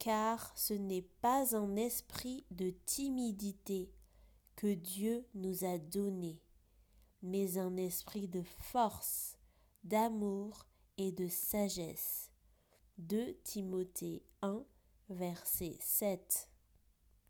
car ce n'est pas un esprit de timidité que Dieu nous a donné, mais un esprit de force, d'amour et de sagesse. 2 Timothée 1, verset 7.